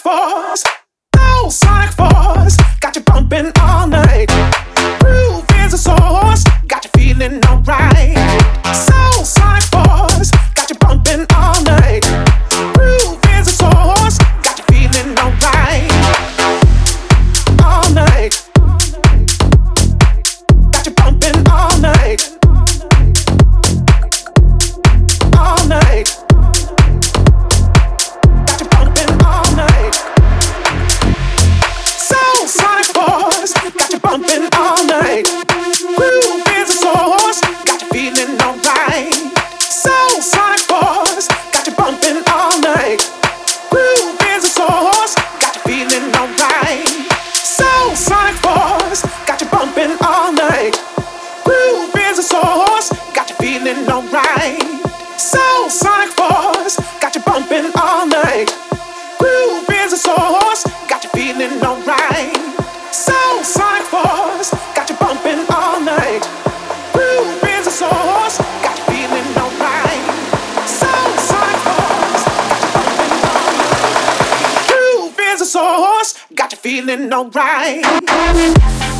force, no sonic force, got you bumping all night. Groove is a source, got you feeling alright. Soul sonic force, got you bumping all night. Groove is a source, got you feeling alright. All night, got you bumping all night. All night. Bumping all night. Groove is a source, got you feeling alright. Soul sonic force, got you bumping all night. Groove is a source, got you feeling alright. Soul sonic force, got you bumping all night. Groove is a source, got you feeling alright. Soul sonic force, got you bumping all night. Groove is a source, got you feeling alright. Soul sonic force, got you bumping all night. Groove is a source, got you feeling alright. Soul sonic force, got you bumping all night. Groove is a source, got you feeling alright.